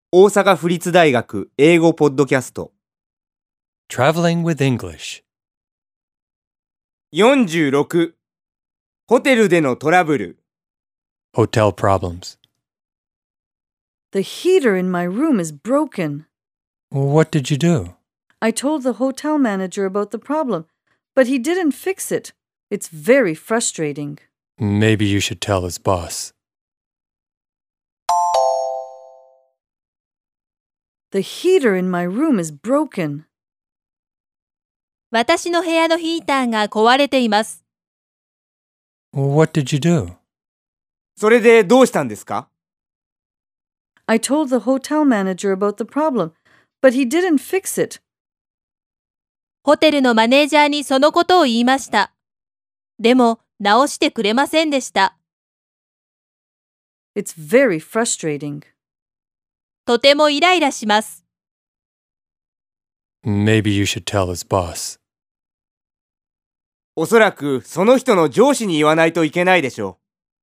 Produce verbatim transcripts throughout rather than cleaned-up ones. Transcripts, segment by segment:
大阪府立大学英語ポッドキャスト Traveling with English. よんじゅうろくホテルでのトラブル Hotel problems. The heater in my room is broken. What did you do? I told the hotel manager about the problem, but he didn't fix it. It's very frustrating. Maybe you should tell his boss. The heater in my room is broken. 私の部屋のヒーターが壊れています。 What did you do? それでどうしたんですか？ I told the hotel manager about the problem, but he didn't fix it. ホテルのマネージャーにそのことを言いました。でも、直してくれませんでした。 It's very frustrating. とてもイライラします。 Maybe you should tell his boss. おそらくその人の上司に言わないといけないでしょ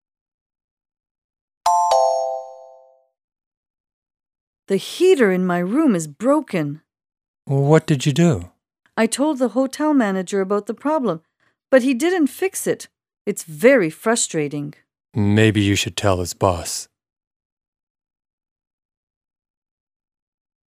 う。 The heater in my room is broken. What did you do? I told the hotel manager about the problem, but he didn't fix it. It's very frustrating. Maybe you should tell his boss.